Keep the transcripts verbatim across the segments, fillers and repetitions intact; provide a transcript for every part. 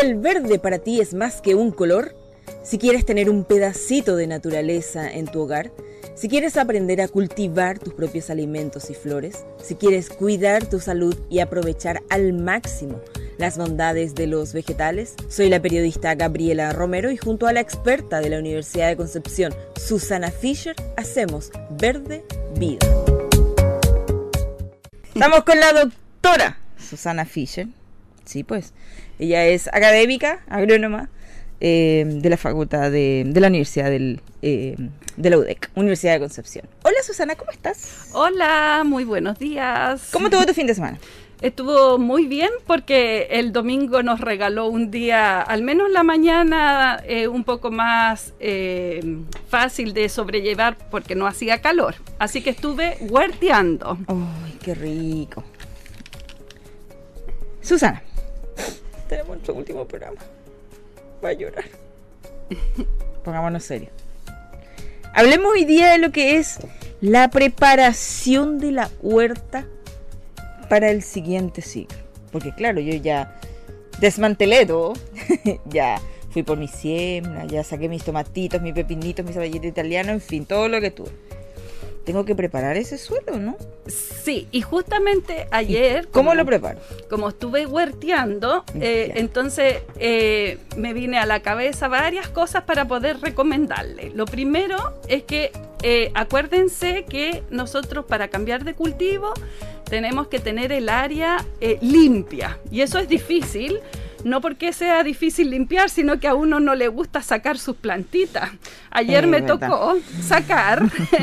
el verde para ti es más que un color, si quieres tener un pedacito de naturaleza en tu hogar, si quieres aprender a cultivar tus propios alimentos y flores, si quieres cuidar tu salud y aprovechar al máximo las bondades de los vegetales, soy la periodista Gabriela Romero y junto a la experta de la Universidad de Concepción, Susana Fischer, hacemos Verde Vida. Estamos con la doctora Susana Fischer. Sí, pues, ella es académica, agrónoma, eh, de la facultad de, de la Universidad del, eh, de la U D E C, Universidad de Concepción. Hola Susana, ¿cómo estás? Hola, muy buenos días. ¿Cómo estuvo tu fin de semana? Estuvo muy bien porque el domingo nos regaló un día, al menos la mañana, eh, un poco más eh, fácil de sobrellevar porque no hacía calor. Así que estuve huerteando. ¡Ay, qué rico! Susana, tenemos nuestro último programa. Va a llorar. Pongámonos serios. Hablemos hoy día de lo que es la preparación de la huerta para el siguiente ciclo. Porque claro, yo ya desmantelé todo. Ya fui por mi siembra, ya saqué mis tomatitos, mis pepinitos, mis cebollitas italianos, en fin, todo lo que tuve. Tengo que preparar ese suelo, ¿no? Sí, y justamente ayer... ¿Cómo como, lo preparo? Como estuve huerteando, eh, entonces eh, me vine a la cabeza varias cosas para poder recomendarle. Lo primero es que eh, acuérdense que nosotros para cambiar de cultivo tenemos que tener el área eh, limpia. Y eso es difícil, no porque sea difícil limpiar, sino que a uno no le gusta sacar sus plantitas. Ayer eh, me verdad. tocó sacar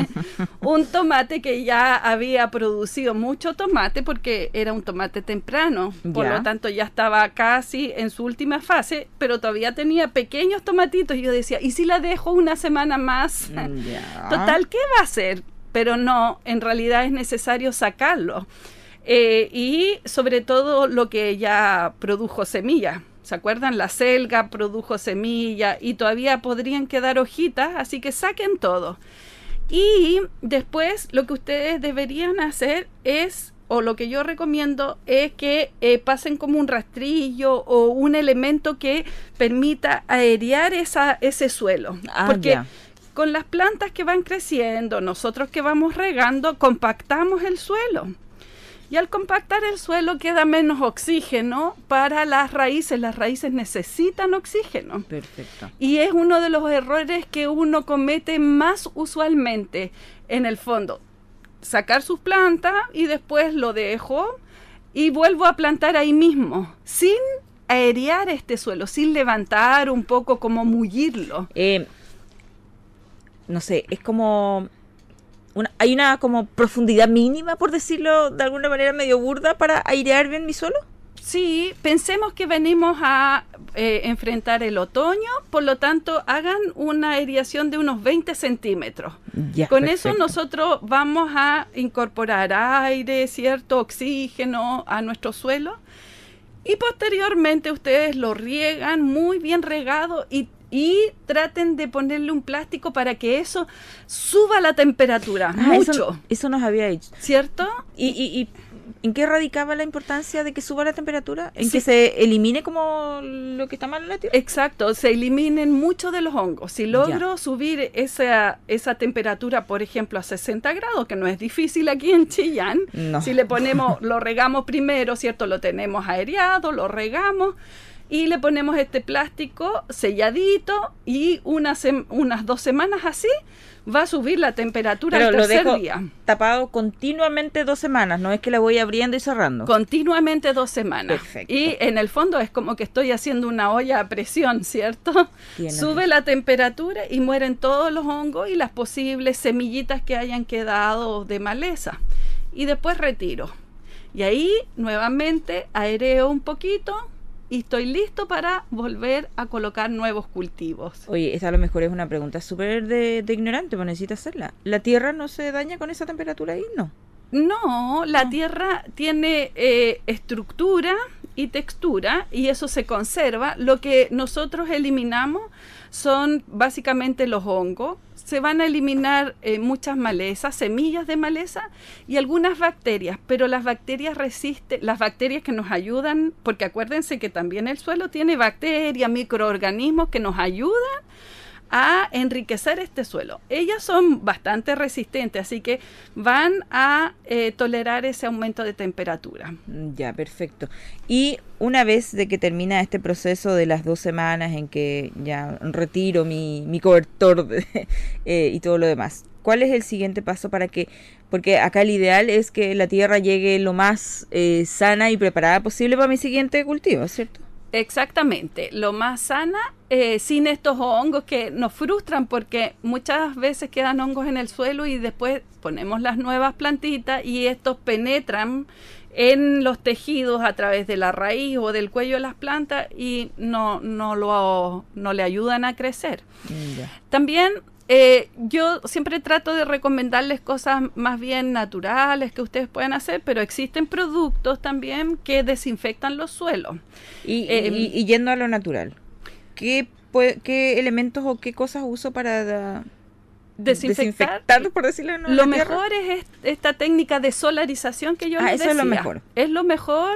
un tomate que ya había producido mucho tomate porque era un tomate temprano. Por ya. lo tanto ya estaba casi en su última fase, pero todavía tenía pequeños tomatitos. Y yo decía, ¿y si la dejo una semana más? Ya. Total, ¿qué va a hacer? Pero no, en realidad es necesario sacarlo. Eh, y sobre todo lo que ya produjo semilla. ¿Se acuerdan? La selga produjo semilla y todavía podrían quedar hojitas, así que saquen todo. Y después lo que ustedes deberían hacer es, o lo que yo recomiendo, es que eh, pasen como un rastrillo o un elemento que permita aerear esa, ese suelo. Ah, porque ya. Con las plantas que van creciendo, nosotros que vamos regando, compactamos el suelo. Y al compactar el suelo queda menos oxígeno para las raíces. Las raíces necesitan oxígeno. Perfecto. Y es uno de los errores que uno comete más usualmente en el fondo. Sacar sus plantas y después lo dejo y vuelvo a plantar ahí mismo, sin aerear este suelo, sin levantar un poco, como mullirlo. Eh, no sé, es como... Una, ¿Hay una como profundidad mínima, por decirlo de alguna manera medio burda, para airear bien mi suelo? Sí, pensemos que venimos a eh, enfrentar el otoño, por lo tanto hagan una aireación de unos veinte centímetros. Ya, Con perfecto. eso nosotros vamos a incorporar aire, cierto oxígeno a nuestro suelo y posteriormente ustedes lo riegan muy bien regado y Y traten de ponerle un plástico para que eso suba la temperatura, ah, mucho. Eso, eso nos había dicho. ¿Cierto? ¿Y, y, y en qué radicaba la importancia de que suba la temperatura? ¿En Sí. que se elimine como lo que está mal en la tierra? Exacto, se eliminen muchos de los hongos. Si logro Ya. subir esa, esa temperatura, por ejemplo, a sesenta grados, que no es difícil aquí en Chillán, No. si le ponemos, lo regamos primero, ¿cierto? Lo tenemos aereado, lo regamos. Y le ponemos este plástico selladito y una sem- unas dos semanas así va a subir la temperatura Pero al lo tercer dejo día. tapado continuamente dos semanas, no es que la voy abriendo y cerrando. Continuamente dos semanas. Perfecto. Y en el fondo es como que estoy haciendo una olla a presión, ¿cierto? Tiene Sube razón. la temperatura y mueren todos los hongos y las posibles semillitas que hayan quedado de maleza. Y después retiro. Y ahí nuevamente aereo un poquito y estoy listo para volver a colocar nuevos cultivos. Oye, esta a lo mejor es una pregunta súper de, de ignorante, pero necesito hacerla. ¿La tierra no se daña con esa temperatura ahí? No. No, la No. tierra tiene eh, estructura y textura y eso se conserva. Lo que nosotros eliminamos son básicamente los hongos. se van a eliminar eh, muchas malezas, semillas de maleza y algunas bacterias, pero las bacterias resisten, las bacterias que nos ayudan, porque acuérdense que también el suelo tiene bacterias, microorganismos que nos ayudan a enriquecer este suelo. Ellas son bastante resistentes, así que van a eh, tolerar ese aumento de temperatura. Ya, perfecto. Y una vez de que termina este proceso de las dos semanas en que ya retiro mi, mi cobertor de, eh, y todo lo demás, ¿cuál es el siguiente paso para que, porque acá el ideal es que la tierra llegue lo más eh, sana y preparada posible para mi siguiente cultivo, ¿cierto? Exactamente, lo más sana, eh, sin estos hongos que nos frustran porque muchas veces quedan hongos en el suelo y después ponemos las nuevas plantitas y estos penetran en los tejidos a través de la raíz o del cuello de las plantas y no, no, lo, no le ayudan a crecer. Yeah. También Eh, yo siempre trato de recomendarles cosas más bien naturales que ustedes pueden hacer, pero existen productos también que desinfectan los suelos. Y, eh, y, y yendo a lo natural, ¿qué, puede, qué elementos o qué cosas uso para da, desinfectar? desinfectar, por decirlo en Lo mejor tierra? es esta técnica de solarización que yo ah, les eso decía. es lo mejor. Es lo mejor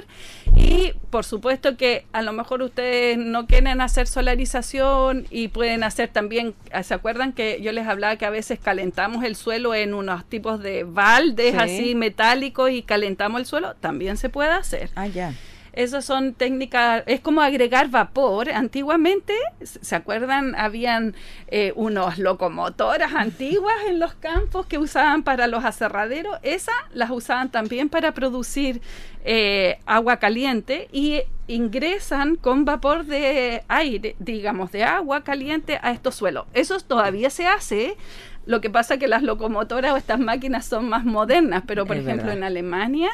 y por supuesto que a lo mejor ustedes no quieren hacer solarización y pueden hacer también, ¿se acuerdan que yo les hablaba que a veces calentamos el suelo en unos tipos de baldes sí. así metálicos y calentamos el suelo? También se puede hacer. Ah, ya. Esas son técnicas, es como agregar vapor. Antiguamente, ¿se acuerdan? Habían eh, unos locomotoras antiguas en los campos que usaban para los aserraderos. Esas las usaban también para producir eh, agua caliente y ingresan con vapor de aire, digamos, de agua caliente a estos suelos. Eso todavía se hace. Lo que pasa es que las locomotoras o estas máquinas son más modernas, pero por es ejemplo verdad. En Alemania...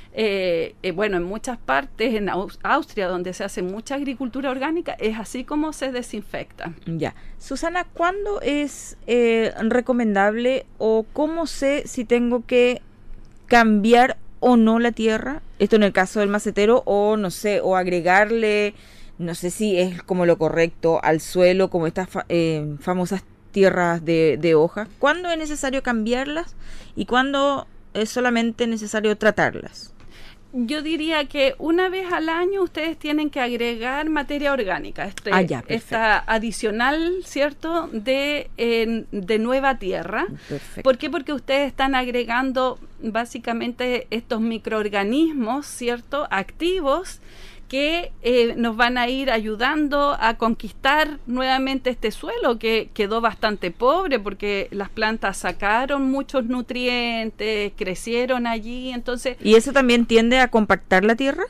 Eh, eh, bueno, en muchas partes, en Aus- Austria, donde se hace mucha agricultura orgánica, es así como se desinfecta. Ya. Susana, ¿cuándo es eh, recomendable o cómo sé si tengo que cambiar o no la tierra? Esto en el caso del macetero, o no sé, o agregarle, no sé si es como lo correcto al suelo, como estas fa- eh, famosas tierras de, de hoja. ¿Cuándo es necesario cambiarlas y cuándo es solamente necesario tratarlas? Yo diría que una vez al año ustedes tienen que agregar materia orgánica, este, ah, ya, esta adicional, ¿cierto?, de, eh, de nueva tierra. Perfecto. ¿Por qué? Porque ustedes están agregando básicamente estos microorganismos, ¿cierto?, activos, que eh, nos van a ir ayudando a conquistar nuevamente este suelo que quedó bastante pobre porque las plantas sacaron muchos nutrientes, crecieron allí, entonces... ¿Y eso también tiende a compactar la tierra?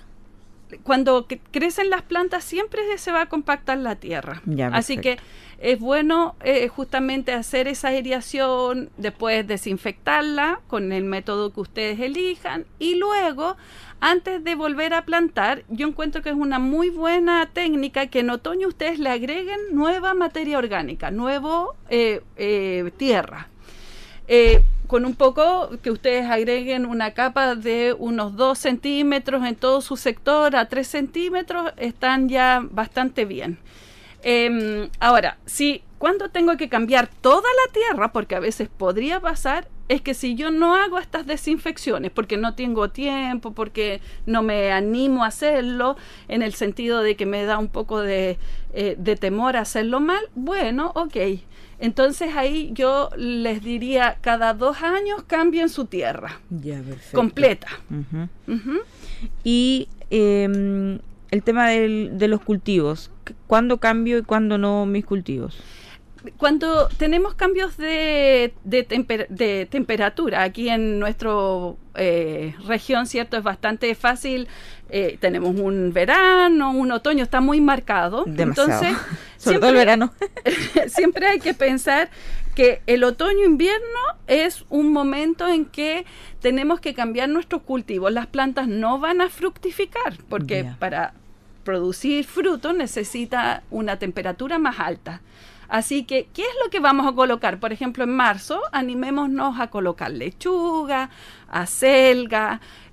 Cuando que crecen las plantas siempre se va a compactar la tierra. Ya, así que es bueno eh, justamente hacer esa aireación, después desinfectarla con el método que ustedes elijan y luego... Antes de volver a plantar, yo encuentro que es una muy buena técnica que en otoño ustedes le agreguen nueva materia orgánica, nuevo eh, eh, tierra. Eh, con un poco que ustedes agreguen una capa de unos dos centímetros en todo su sector, a tres centímetros, están ya bastante bien. Eh, ahora, si cuando tengo que cambiar toda la tierra, porque a veces podría pasar, es que si yo no hago estas desinfecciones, porque no tengo tiempo, porque no me animo a hacerlo, en el sentido de que me da un poco de, eh, de temor a hacerlo mal, bueno, ok. Entonces ahí yo les diría, cada dos años cambien su tierra. Ya, perfecto. Completa. Uh-huh. Uh-huh. Y eh, el tema del, de los cultivos, ¿cuándo cambio y cuándo no mis cultivos? Cuando tenemos cambios de, de, temper, de temperatura, aquí en nuestra eh, región, ¿cierto? Es bastante fácil, eh, tenemos un verano, un otoño, está muy marcado. Demasiado. Entonces, sobre siempre, todo el verano. Siempre hay que pensar que el otoño-invierno es un momento en que tenemos que cambiar nuestros cultivos. Las plantas no van a fructificar, porque yeah. para producir fruto necesita una temperatura más alta. Así que, ¿qué es lo que vamos a colocar? Por ejemplo, en marzo, animémonos a colocar lechuga, acelga,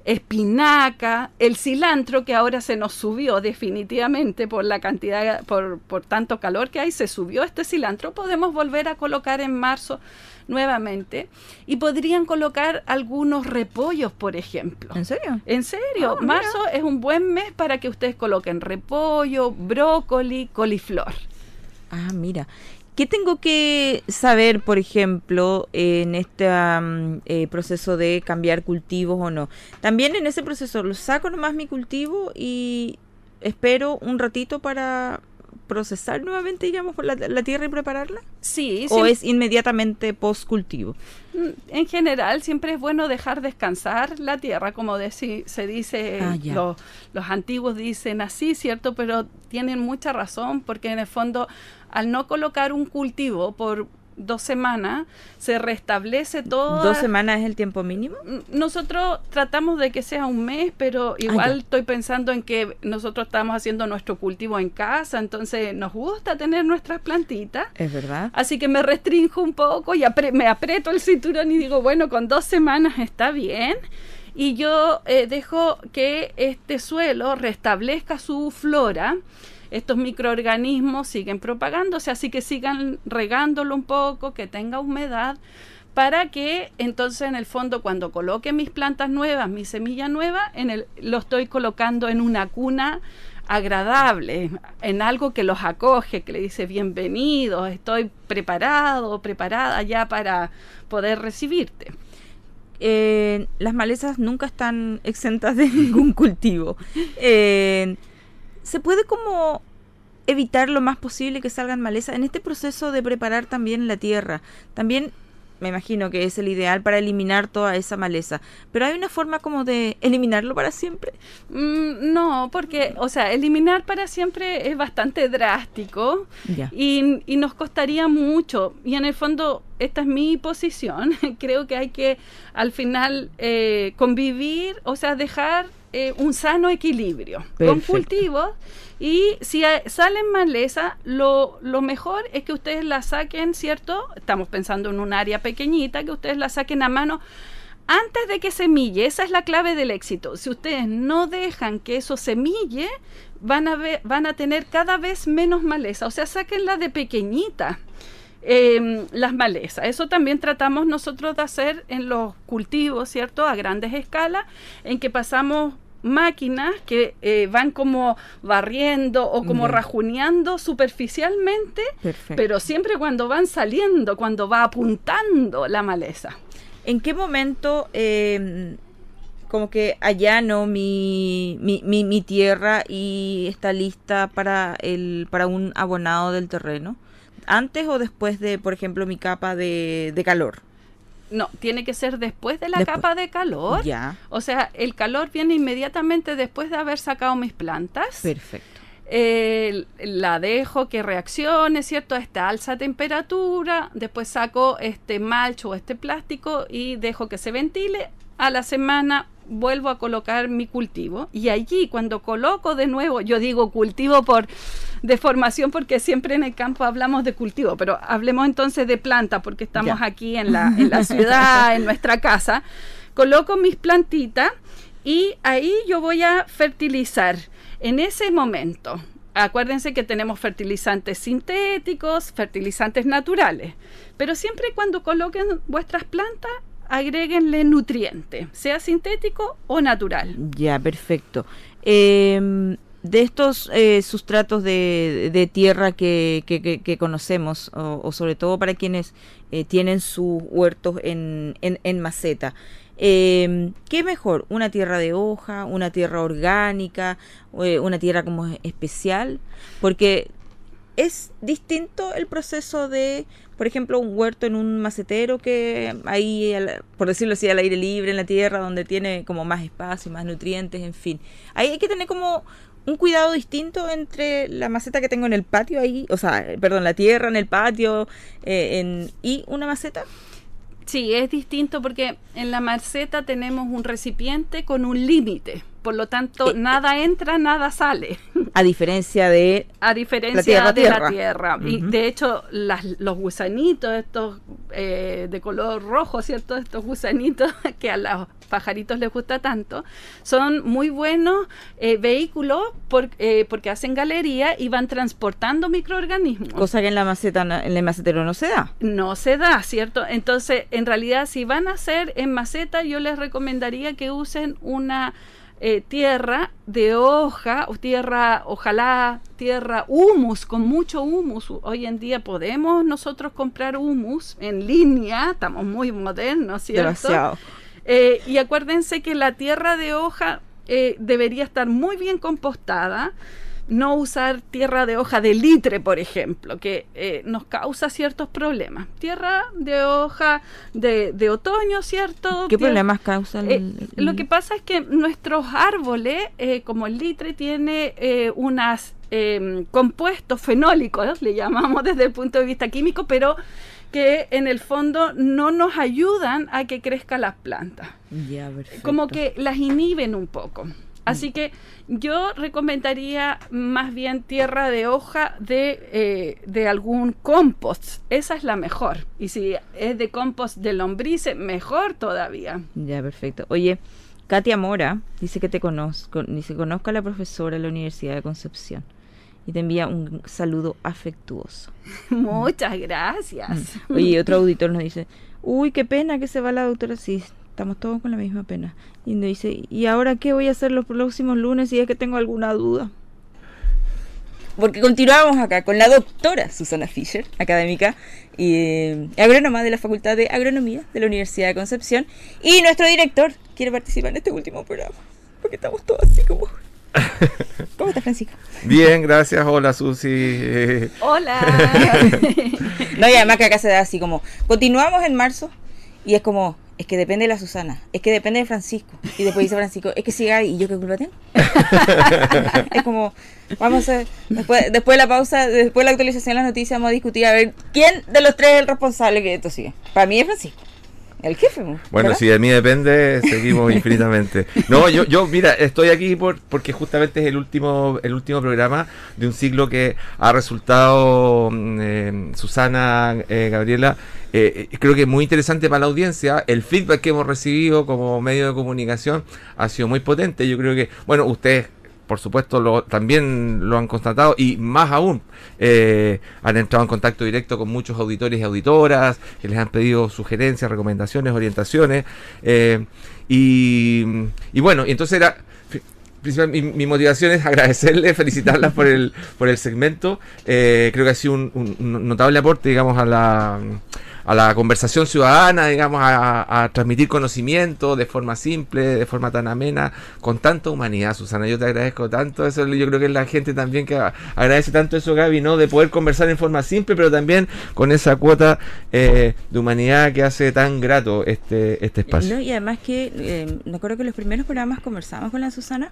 espinaca, el cilantro que ahora se nos subió definitivamente por la cantidad, por, por tanto calor que hay, se subió este cilantro, podemos volver a colocar en marzo nuevamente y podrían colocar algunos repollos, por ejemplo. ¿En serio? En serio, Oh, marzo mira. es un buen mes para que ustedes coloquen repollo, brócoli, coliflor. Ah, mira. ¿Qué tengo que saber, por ejemplo, en este um, eh, proceso de cambiar cultivos o no? También en ese proceso, ¿lo saco nomás mi cultivo y espero un ratito para procesar nuevamente, digamos, la, la tierra y prepararla? Sí, ¿O sí. es inmediatamente post cultivo? En general, siempre es bueno dejar descansar la tierra, como deci- se dice, Ah, ya. los, los antiguos dicen así, ¿cierto? Pero tienen mucha razón, porque en el fondo, al no colocar un cultivo por dos semanas, se restablece todo. ¿Dos semanas es el tiempo mínimo? Nosotros tratamos de que sea un mes, pero igual Ah, ya. estoy pensando en que nosotros estamos haciendo nuestro cultivo en casa, entonces nos gusta tener nuestras plantitas. Es verdad. Así que me restringo un poco y apre- me aprieto el cinturón y digo, bueno, con dos semanas está bien. Y yo eh, dejo que este suelo restablezca su flora. Estos microorganismos siguen propagándose, así que sigan regándolo un poco, que tenga humedad, para que entonces en el fondo cuando coloque mis plantas nuevas, mi semilla nueva, en el, lo estoy colocando en una cuna agradable, en algo que los acoge, que le dice bienvenidos, estoy preparado, preparada ya para poder recibirte. Eh, las malezas nunca están exentas de ningún cultivo. Eh, ¿Se puede como evitar lo más posible que salgan malezas en este proceso de preparar también la tierra? También me imagino que es el ideal para eliminar toda esa maleza, pero hay una forma como de eliminarlo para siempre. Mm, no, porque, o sea, eliminar para siempre es bastante drástico Ya. y, y nos costaría mucho. Y en el fondo, esta es mi posición. Creo que hay que al final eh, convivir, o sea, dejar eh, un sano equilibrio con Perfecto. cultivos. Y si hay- salen maleza, lo, lo mejor es que ustedes la saquen, ¿cierto? Estamos pensando en un área pequeñita, que ustedes la saquen a mano antes de que semille. Esa es la clave del éxito. Si ustedes no dejan que eso semille, van a ver, van a tener cada vez menos maleza. O sea, sáquenla de pequeñita. Eh, las malezas. Eso también tratamos nosotros de hacer en los cultivos, ¿cierto? A grandes escalas, en que pasamos máquinas que eh, van como barriendo o como Ya. rajuneando superficialmente, Perfecto. pero siempre cuando van saliendo, cuando va apuntando la maleza. ¿En qué momento eh, como que allano mi, mi, mi, mi tierra y está lista para el para un abonado del terreno? ¿Antes o después de, por ejemplo, mi capa de, de calor? No, tiene que ser después de la Después. capa de calor. Ya. O sea, el calor viene inmediatamente después de haber sacado mis plantas. Perfecto. Eh, la dejo que reaccione, ¿cierto? A esta alza temperatura, después saco este malcho o este plástico y dejo que se ventile. A la semana vuelvo a colocar mi cultivo y allí cuando coloco de nuevo, yo digo cultivo por deformación porque siempre en el campo hablamos de cultivo, pero hablemos entonces de planta porque estamos Ya. aquí en la, en la ciudad, en nuestra casa. Coloco mis plantitas y ahí yo voy a fertilizar. En ese momento, acuérdense que tenemos fertilizantes sintéticos, fertilizantes naturales, pero siempre cuando coloquen vuestras plantas, agréguenle nutriente, sea sintético o natural. Ya, perfecto. Eh, de estos eh, sustratos de, de tierra que, que, que, que conocemos, o, o sobre todo para quienes eh, tienen sus huertos en, en, en maceta, eh, ¿qué mejor? ¿Una tierra de hoja, una tierra orgánica, eh, una tierra como especial? Porque es distinto el proceso de, por ejemplo, un huerto en un macetero que ahí, al- por decirlo así, al aire libre en la tierra, donde tiene como más espacio, más nutrientes, en fin. Ahí hay que tener como un cuidado distinto entre la maceta que tengo en el patio ahí, o sea, eh, perdón, la tierra en el patio eh, en, y una maceta. Sí, es distinto porque en la maceta tenemos un recipiente con un límite. por lo tanto, eh, nada entra, nada sale. A diferencia de a diferencia la tierra, de tierra. la tierra. Uh-huh. Y de hecho, las, los gusanitos, estos eh, de color rojo, ¿cierto? Estos gusanitos que a los pajaritos les gusta tanto, son muy buenos eh, vehículos por, eh, porque hacen galería y van transportando microorganismos. Cosa que en la maceta, en el macetero no se da. No se da, ¿cierto? Entonces, en realidad, si van a hacer en maceta, yo les recomendaría que usen una eh, tierra de hoja, o tierra, ojalá tierra humus, con mucho humus. Hoy en día podemos nosotros comprar humus en línea, estamos muy modernos, ¿cierto? Demasiado. Eh, y acuérdense que la tierra de hoja eh, debería estar muy bien compostada, no usar tierra de hoja de litre, por ejemplo, que eh, nos causa ciertos problemas. Tierra de hoja de, de otoño, ¿cierto? ¿Qué Tierra, problemas causa el, eh, el... Lo que pasa es que nuestros árboles, eh, como el litre, tiene eh, unas eh, compuestos fenólicos, le llamamos desde el punto de vista químico, pero que en el fondo no nos ayudan a que crezcan las plantas. Ya, perfecto. Como que las inhiben un poco. Así que yo recomendaría más bien tierra de hoja de, eh, de algún compost. Esa es la mejor. Y si es de compost de lombrices, mejor todavía. Ya, perfecto. Oye, Katia Mora dice que te conozco, dice conozco a la profesora de la Universidad de Concepción. Y te envía un saludo afectuoso. Muchas gracias. Oye, otro auditor nos dice, uy, qué pena que se va la doctora. Sí, estamos todos con la misma pena. Y nos dice, ¿y ahora qué voy a hacer los próximos lunes si es que tengo alguna duda? Porque continuamos acá con la doctora Susana Fischer, académica y eh, agrónoma de la Facultad de Agronomía de la Universidad de Concepción. Y nuestro director quiere participar en este último programa. Porque estamos todos así como... ¿Cómo estás, Francisco? Bien, gracias. Hola, Susi. Hola. No, y además que acá se da así como, continuamos en marzo y es como, es que depende de la Susana, es que depende de Francisco. Y después dice Francisco, es que si Gaby, ¿y yo qué culpa tengo? Es como, vamos a, después, después de la pausa, después de la actualización de las noticias, vamos a discutir a ver quién de los tres es el responsable que esto sigue. Para mí es Francisco. El jefe, ¿verdad? Bueno, si de mí depende, seguimos infinitamente. No, yo, yo, mira, estoy aquí por porque justamente es el último, el último programa de un ciclo que ha resultado eh, Susana, eh, Gabriela, eh, creo que muy interesante para la audiencia. El feedback que hemos recibido como medio de comunicación ha sido muy potente. Yo creo que, bueno, ustedes por supuesto lo, también lo han constatado y más aún eh, han entrado en contacto directo con muchos auditores y auditoras que les han pedido sugerencias, recomendaciones, orientaciones eh, y, y bueno, y entonces era mi, mi motivación es agradecerles, felicitarlas por el por el segmento. Eh, creo que ha sido un, un notable aporte, digamos, a la a la conversación ciudadana, digamos, a, a transmitir conocimiento de forma simple, de forma tan amena, con tanta humanidad, Susana. Yo te agradezco tanto eso. Yo creo que es la gente también que agradece tanto eso, Gaby, ¿no? De poder conversar en forma simple, pero también con esa cuota eh, de humanidad que hace tan grato este, este espacio. No, y además que, eh, me acuerdo que en los primeros programas conversamos con la Susana,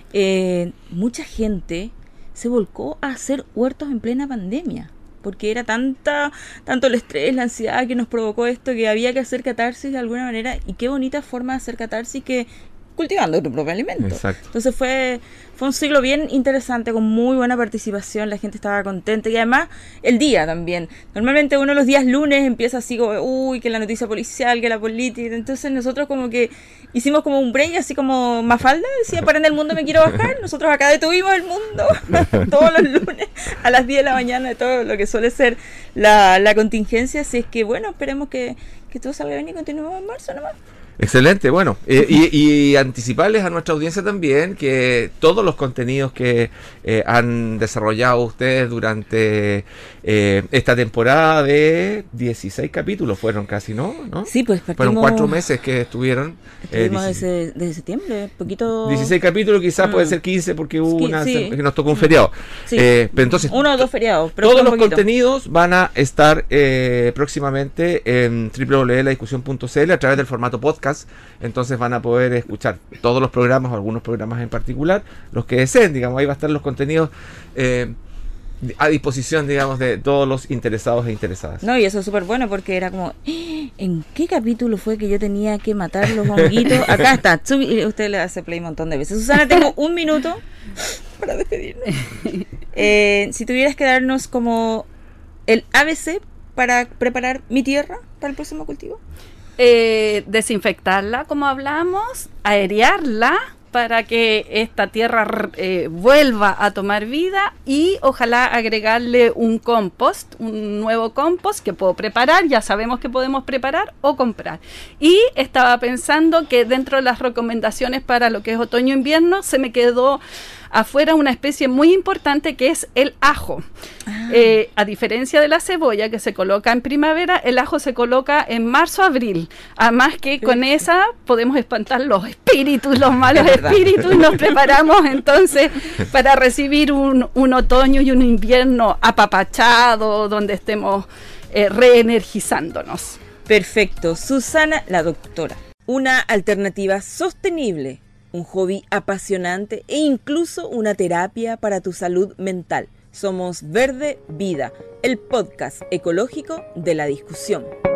eh, mucha gente se volcó a hacer huertos en plena pandemia. Porque era tanta, tanto el estrés, la ansiedad que nos provocó esto, que había que hacer catarsis de alguna manera. Y qué bonita forma de hacer catarsis que cultivando tu propio alimento. Exacto. Entonces fue, fue un ciclo bien interesante, con muy buena participación, la gente estaba contenta. Y además, el día también. Normalmente uno los días lunes empieza así como, uy, que la noticia policial, que la política. Entonces nosotros como que hicimos como un break, así como Mafalda, decía, para en el mundo me quiero bajar. Nosotros acá detuvimos el mundo todos los lunes a las diez de la mañana, de todo lo que suele ser la, la contingencia. Así es que, bueno, esperemos que, que todo salga bien y continuemos en marzo nomás. Excelente, bueno, eh, y, y anticiparles a nuestra audiencia también que todos los contenidos que eh, han desarrollado ustedes durante eh, esta temporada de dieciséis capítulos fueron casi, ¿no? ¿No? Sí, pues partimos, fueron cuatro meses que estuvieron. Estuvimos eh, desde, desde septiembre, poquito. dieciséis capítulos, quizás mm. puede ser quince porque hubo una sí. que nos tocó un feriado. Sí. Eh, pero entonces uno o dos feriados. Pero todos los poquito. contenidos van a estar eh, próximamente en doble u doble u doble u punto la discusión punto c l a través del formato podcast. Entonces van a poder escuchar todos los programas o algunos programas en particular, los que deseen, digamos, ahí va a estar los contenidos eh, a disposición, digamos, de todos los interesados e interesadas. No, y eso es súper bueno porque era como, ¿en qué capítulo fue que yo tenía que matar los honguitos? Acá está, usted le hace play un montón de veces. Susana, tengo un minuto para despedirnos. Eh, si tuvieras que darnos como el A B C para preparar mi tierra para el próximo cultivo. Eh, desinfectarla, como hablamos, aerearla para que esta tierra eh, vuelva a tomar vida y ojalá agregarle un compost, un nuevo compost que puedo preparar, ya sabemos que podemos preparar o comprar. Y estaba pensando que dentro de las recomendaciones para lo que es otoño-invierno se me quedó afuera una especie muy importante que es el ajo. Ah. Eh, a diferencia de la cebolla que se coloca en primavera, el ajo se coloca en marzo-abril. Además que con esa podemos espantar los espíritus, los malos espíritus, y nos preparamos entonces para recibir un, un otoño y un invierno apapachado, donde estemos eh, reenergizándonos. Perfecto. Susana, la doctora. Una alternativa sostenible, un hobby apasionante e incluso una terapia para tu salud mental. Somos Verde Vida, el podcast ecológico de la discusión.